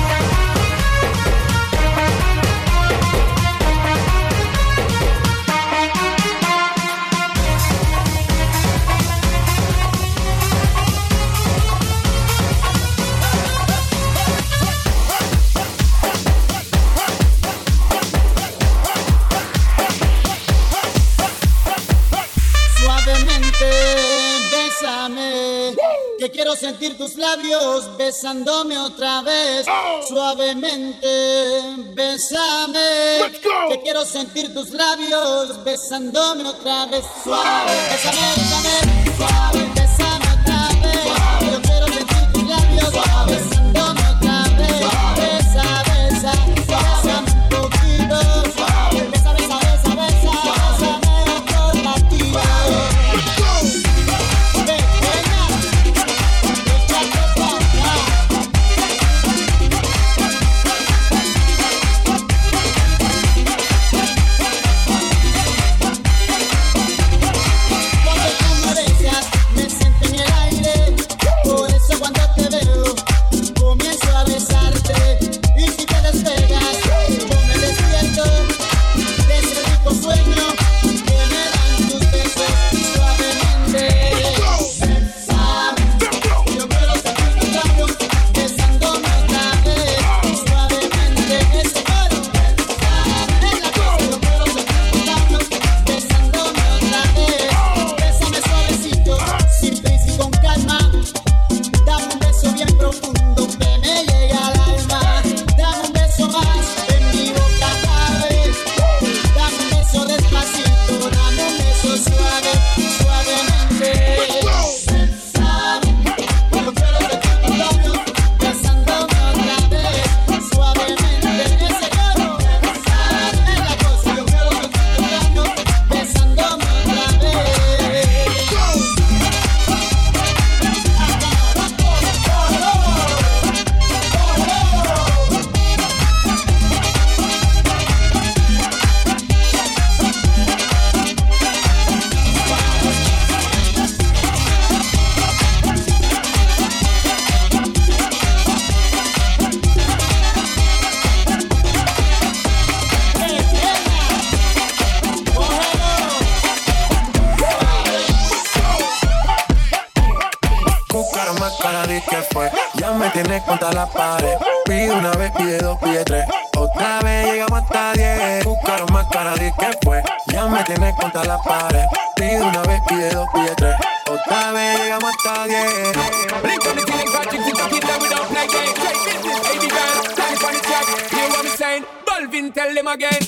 S22: Suavemente, bésame, que quiero sentir tus labios besándome otra vez. Suavemente, bésame, que quiero sentir tus labios besándome otra vez. Suave, bésame, bésame, suave.
S3: di que fue. Ya me tienes contra la pared. Pide una vez, pide dos, pide tres. Otra vez llegamos hasta 10. Buscaron más cara, di que fue. Ya me tienes contra la pared. Pide una vez, pide dos, pide tres. Otra vez llegamos hasta 10.
S4: Blink on the ceiling, Patrick, sit up, hit them without play game. Baby girl, stand on the track. Hear what I'm saying? Balvin, tell them again.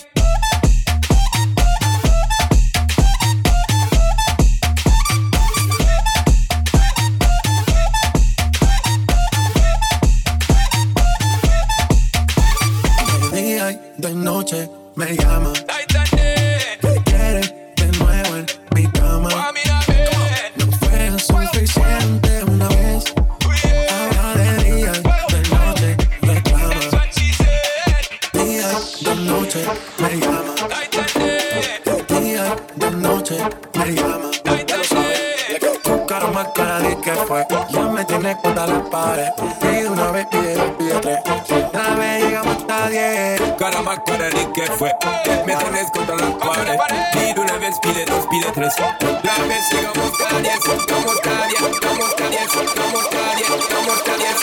S3: De noche me llama, que quiere de nuevo en mi cama. No fue suficiente una vez, ahora de día y de noche reclama. Día y de noche me llama, de día y de noche me llama. Buscaron más cara de que fue, ya me tienes contra la pared. Pide una vez, pide dos, pide tres. Una vez llegamos hasta 10.
S4: Cara más cara de que fue, me tienes contra la pared. Pide una vez, pide dos, pide tres. La vez llegamos hasta 10. Vamos hasta 10, vamos hasta 10, vamos hasta 10, vamos hasta 10.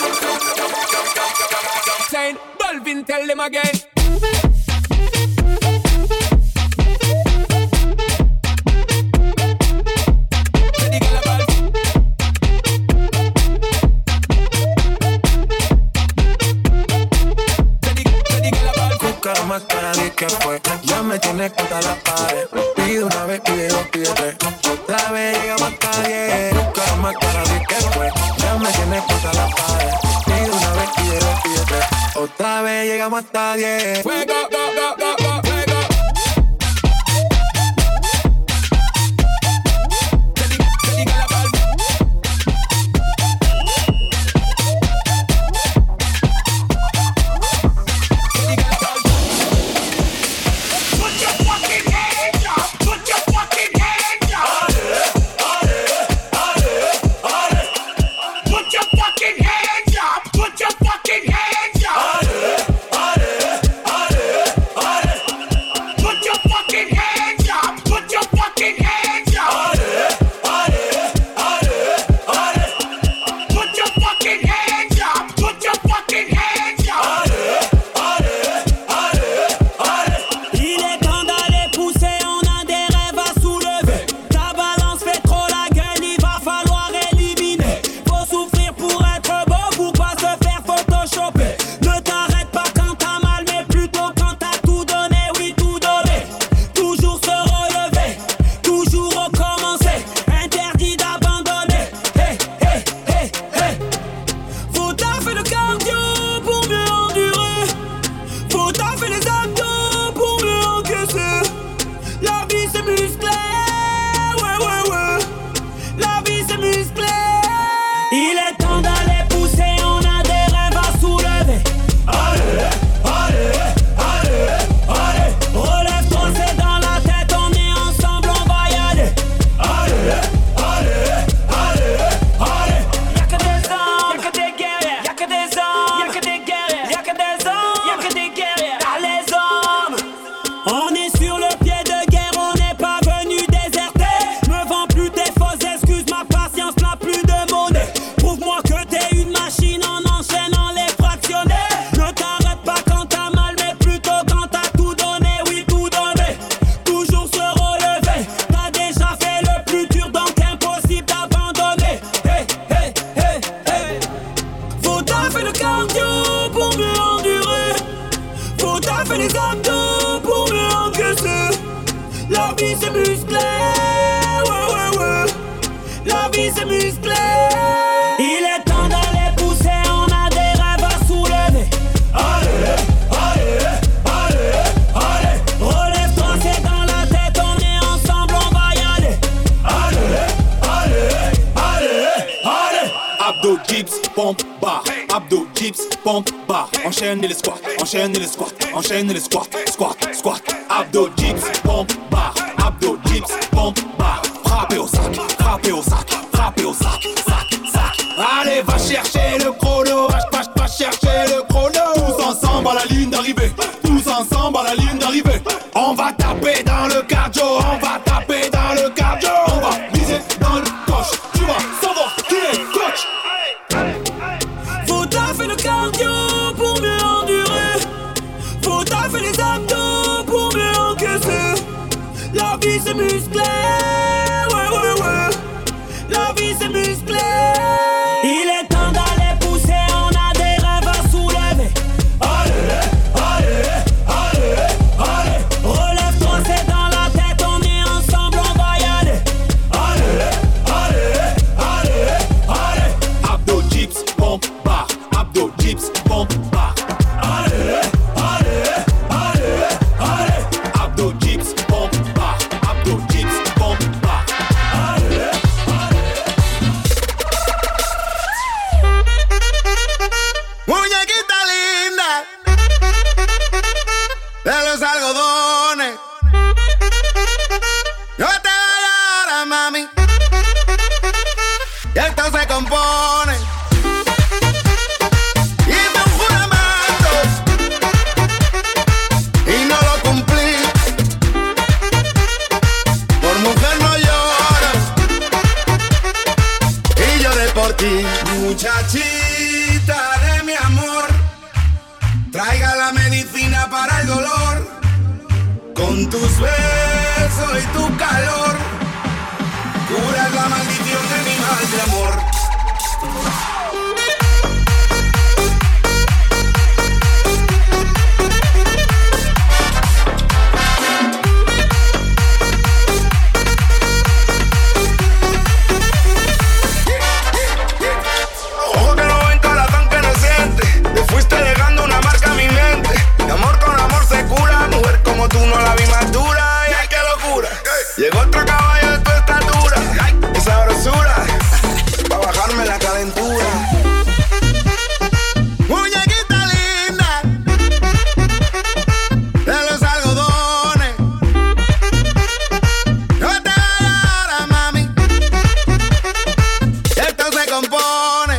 S4: Saying, Balvin, tell them again.
S3: Más cara de que fue, ya me tienes contra la pared. Pide una vez, pide dos, pide tres. Otra vez llegamos hasta 10. Buscar más cara de que fue, ya me tienes contra la pared. Pide una vez, pide dos, pide tres. Otra vez llegamos hasta 10.
S4: Fuego, go, go, go, go, fuego.
S23: Enchaîne les squats, enchaîne les squats, enchaîne les squats, squat, squat. Abdo dips, pompe, barre. Abdo dips, pompe, barre. Frappez au sac, frappez au sac, frappez au sac, sac, sac. Allez, va chercher le chrono, va chercher le chrono. Tous ensemble à la ligne d'arrivée, tous ensemble à la ligne d'arrivée. On va taper dans le cardio, on va taper dans le cardio. On va viser dans le coche, tu vas savoir qui est coach.
S14: ti. Muchachita de mi amor, traiga la medicina para el dolor. Con tus besos y tu calor, curas la maldición de mi mal de amor. Fuiste dejando una marca en mi mente. De amor con amor se cura. Mujer como tú no la vi más dura. Y ay, qué locura. Llegó otro caballo de tu estatura. Esa sabrosura. Pa' bajarme la calentura. Muñequita linda de los algodones. No te vayas ahora, mami. Esto se compone.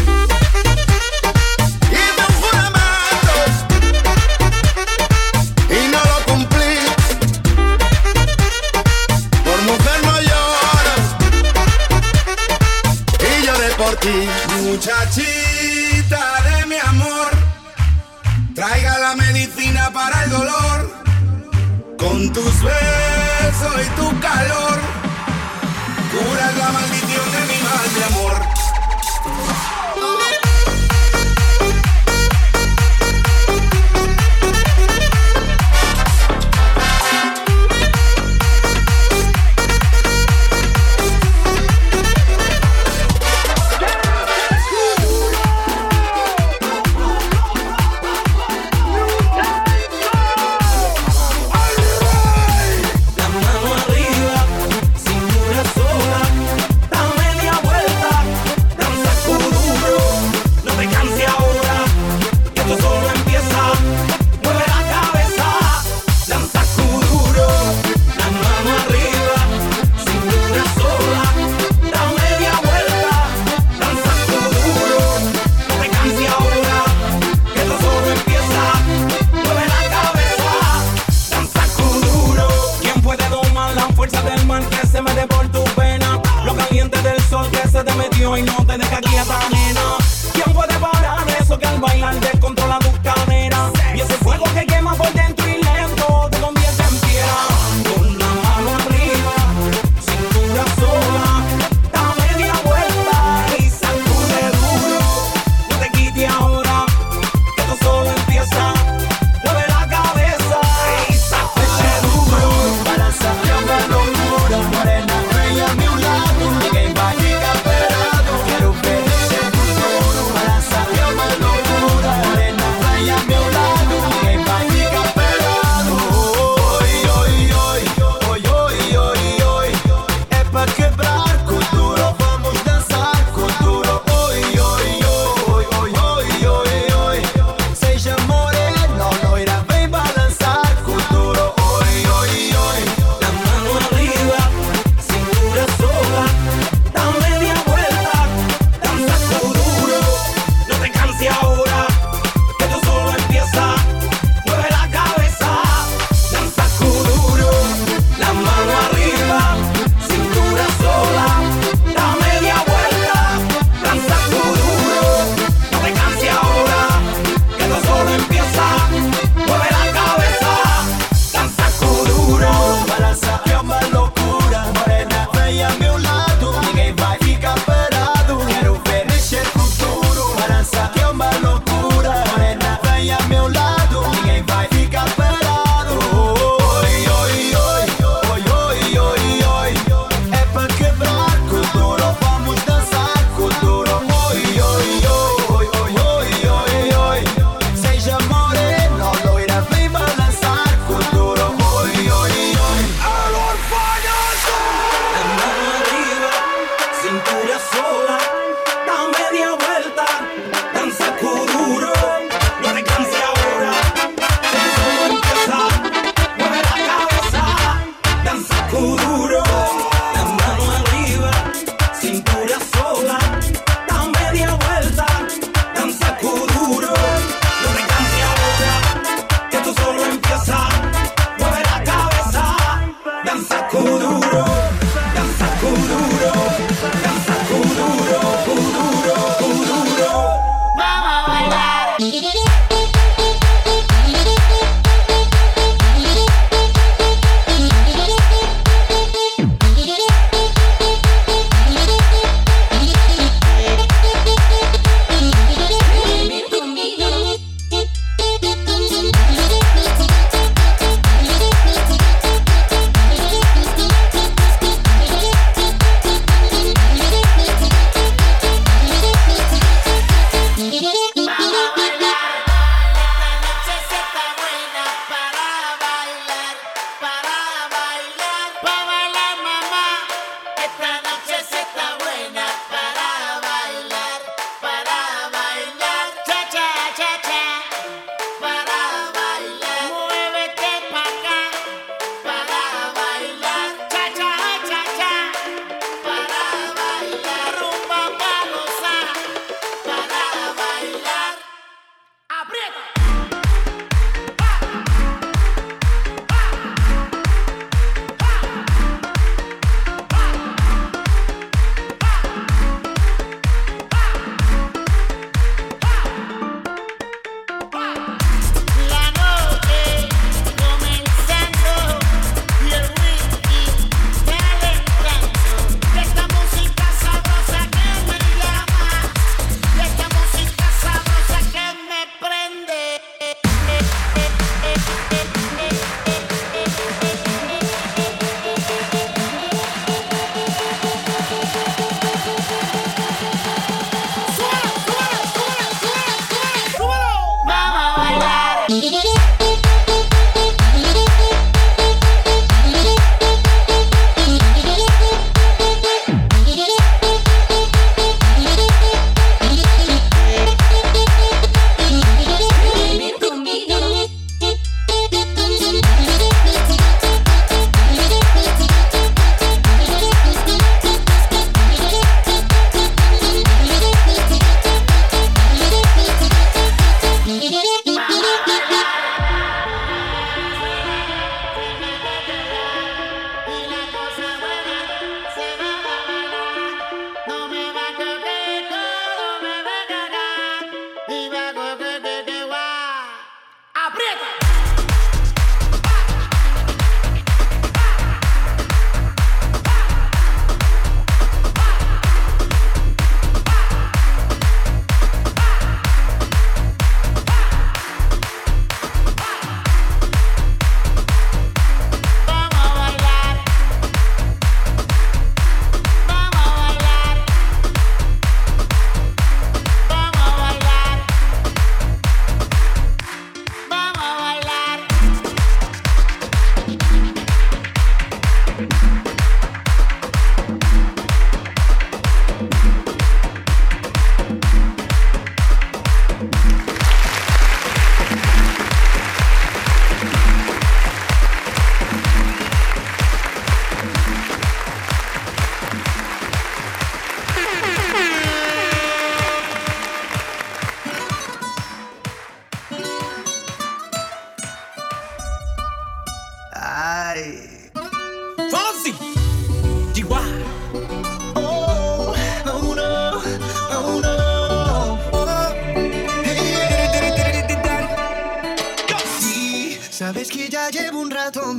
S14: Muchachita de mi amor, traiga la medicina para el dolor. Con tus besos y tu calor, curas la maldición de mi mal de amor.
S17: Y no te deja quieta, nena. ¿Quién puede parar eso que al bailar descontrola tus caderas? Y ese fuego que quema por dentro y lento te convierte en piedra. Con la mano arriba, cintura sola, da media vuelta y sacude duro. No te quites ahora, que esto solo empieza. Mueve la cabeza y sacude duro. Para salir de locura, morena, bella a mi lado. Que vaya quiero ver ese futuro para salir de locura.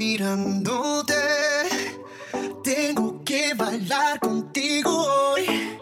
S7: mirándote. Tengo que bailar contigo hoy.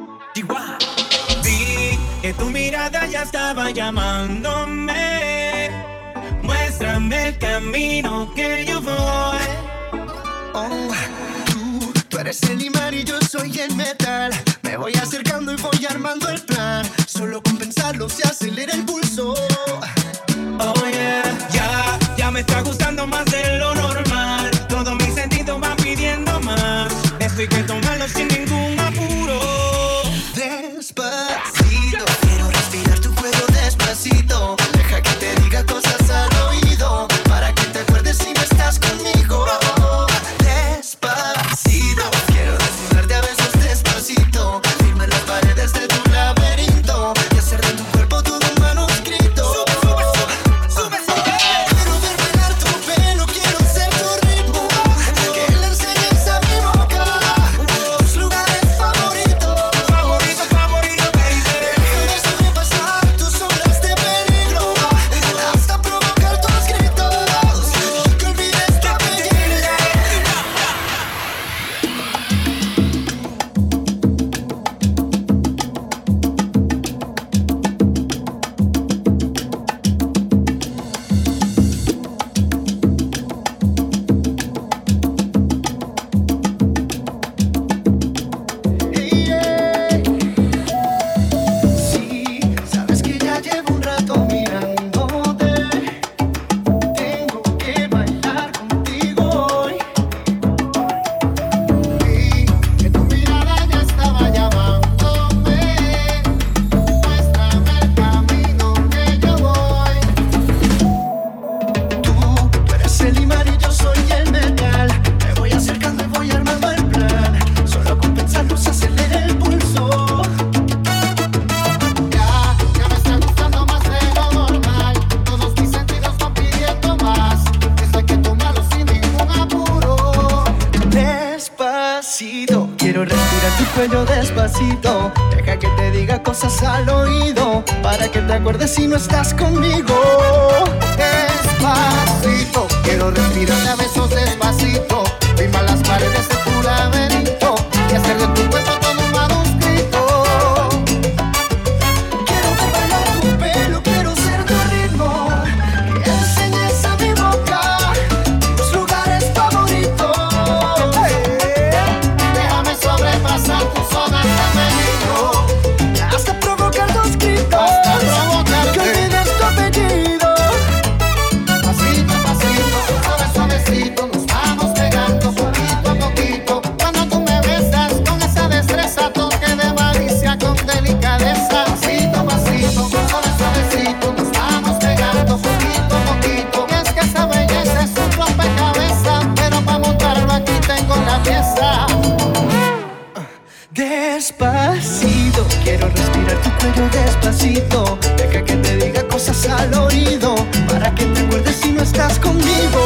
S17: Vi que tu mirada ya estaba llamándome. Muéstrame el camino que yo voy.
S7: Oh, tú eres el imán y yo soy el metal. Me voy acercando y voy armando el plan. Solo con pensarlo se acelera el pulso.
S17: Oh yeah, ya me está gustando más de lo normal. Todos mis sentidos van pidiendo más. Esto hay que tomarlo sin ningún apuro.
S7: Despacito, quiero respirar tu cuello despacito. Deja que te diga cosas al oído, para que te acuerdes si no estás conmigo. Despacito, quiero desnudarte a besos despacito. Firma las paredes de tu laberinto y hacer de tu cuerpo todo un manuscrito. Quiero ver bailar tu pelo, quiero ser tu ritmo. Que le enseñes a mi boca tus lugares favoritos. Déjame sobrepasar tus sombras de peligro, hasta provocar tus gritos y que olvides tu apellido. Sí, sabes que ya llevo un rato mirándote. Tengo que bailar contigo hoy. Vi que tu mirada ya estaba llamándome. Muéstrame el camino que yo voy. Tú eres el imán y yo soy el metal. Me voy acercando y voy armando el plan. Solo con pensarlo se acelera el pulso. Ya me está gustando más de lo normal. Todos mis sentidos van pidiendo más. Esto hay que tomarlo sin ningún apuro. Despacito, quiero respirar tu cuello despacito. Deja que te diga cosas al oído, para que te acuerdes si no estás conmigo. Despacito, quiero respirar a besos despacito. Firma las paredes de tu laberinto y hacer de tu cuerpo todo un manuscrito. Quiero ver bailar tu pelo, quiero ser tu ritmo. Que enseñes a mi boca tus lugares favoritos. Déjame sobrepasar tus zonas de peligro, hasta provocar tus gritos, que olvides tu apellido. Pasito a pasito, suave suavecito, nos vamos pegando poquito a poquito. Cuando tú me besas con esa destreza, toque de malicia con delicadeza. Pasito a pasito, suave suavecito, nos vamos pegando poquito a poquito. Y es que esa belleza es un rompecabezas, pero para montarlo aquí tengo la pieza. Despacito, quiero respirar tu cuello despacito. Deja que te diga cosas al oído, para que te acuerdes si no estás conmigo.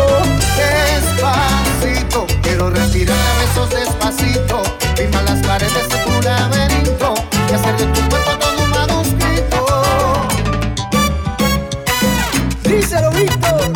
S7: Despacito, quiero respirar a besos despacito. Firma las paredes de tu laberinto y hacer de tu cuerpo todo un manuscrito. Díselo, Víctor.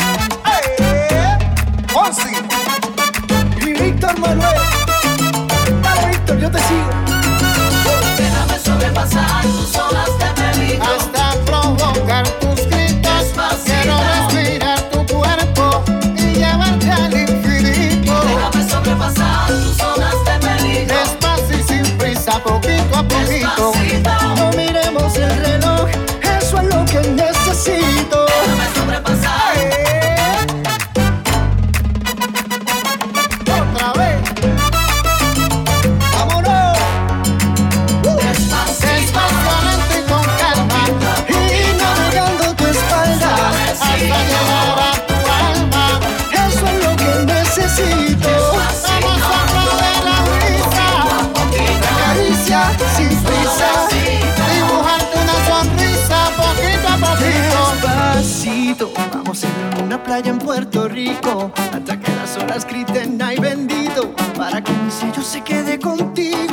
S7: Onsi y Víctor Manuel. Dale, Víctor, yo te sigo. Déjame sobrepasar tus olas de peligro, hasta provocar tus gritos. Quiero respirar tu cuerpo y llevarte al infinito. Déjame sobrepasar tus olas de peligro, despacio y sin prisa, poquito a poquito. No miremos el reloj, eso es lo que necesito. Déjame sobrepasar. Otra vez. Vámonos. Despacio, lento y con calma, y navegando tu espalda hasta llegar a tu alma. Eso es lo que necesito. Vamos a probar la brisa, la caricia sin prisa, dibujarte una sonrisa poquito a poquito. Despacito, vamos a ir a una playa en Puerto Rico, hasta que las olas griten ay bendito, para que mi sello se quede contigo.